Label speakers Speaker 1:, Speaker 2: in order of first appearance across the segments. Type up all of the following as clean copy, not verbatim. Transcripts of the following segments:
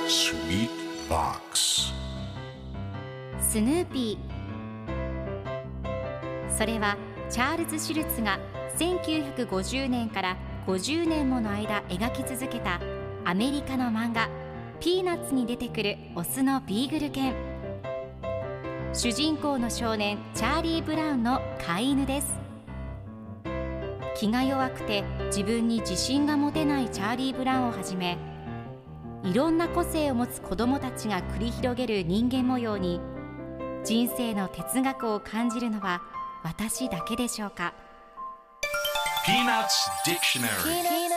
Speaker 1: Sweet Box
Speaker 2: スヌーピー。それはチャールズ・シュルツが1950年から50年もの間描き続けたアメリカの漫画ピーナッツに出てくるオスのビーグル犬。主人公の少年チャーリー・ブラウンの飼い犬です。気が弱くて自分に自信が持てないチャーリー・ブラウンをはじめ、いろんな個性を持つ子どもたちが繰り広げる人間模様に人生の哲学を感じるのは私だけでしょうか。
Speaker 1: Peanuts Dictionary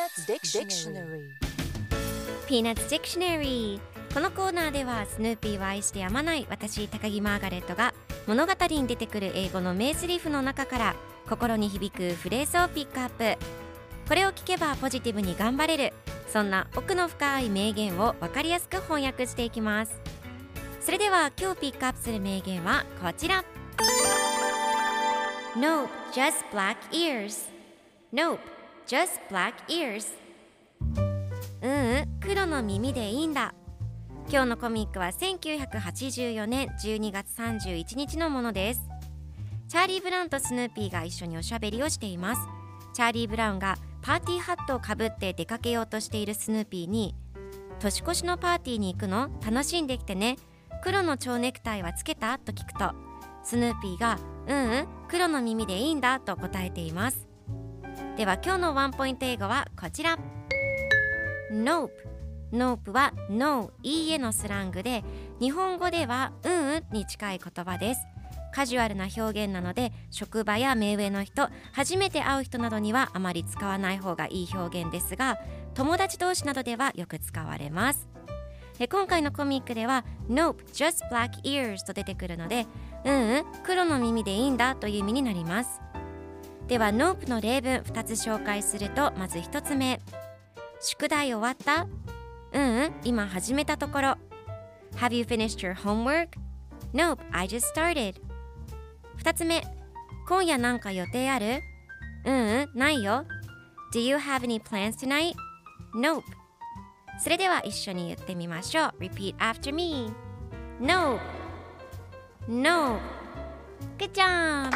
Speaker 3: Peanuts Dictionary。 このコーナーではスヌーピーを愛してやまない私高木マーガレットが物語に出てくる英語の名セリフの中から心に響くフレーズをピックアップ。これを聞けばポジティブに頑張れる、そんな奥の深い名言を分かりやすく翻訳していきます。それでは今日ピックアップする名言はこちら。 Nope, just black ears. Nope, just black ears。 黒の耳でいいんだ。今日のコミックは1984年12月31日のものです。チャーリー・ブラウンとスヌーピーが一緒におしゃべりをしています。チャーリー・ブラウンがパーティーハットをかぶって出かけようとしているスヌーピーに、年越しのパーティーに行くの？楽しんできてね。黒の蝶ネクタイはつけた？と聞くと、スヌーピーが黒の耳でいいんだと答えています。では今日のワンポイント英語はこちら。 Nope。Nope は No、いいえのスラングで、日本語ではに近い言葉です。カジュアルな表現なので、職場や目上の人、初めて会う人などにはあまり使わない方がいい表現ですが、友達同士などではよく使われます。今回のコミックでは Nope, just black ears と出てくるので、黒の耳でいいんだという意味になります。では Nope の例文2つ紹介すると、まず1つ目、宿題終わった？今始めたところ。 Have you finished your homework? Nope, I just started。 2つ目、今夜なんか予定ある？ないよ。 Do you have any plans tonight? Nope。 それでは一緒に言ってみましょう。 Repeat after me. Nope, Nope。 Good job。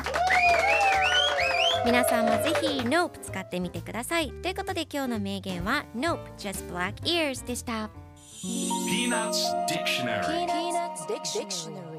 Speaker 3: 皆さんもぜひ Nope 使ってみてください。ということで今日の名言は Nope, just black ears でした。
Speaker 1: Peanuts Dictionary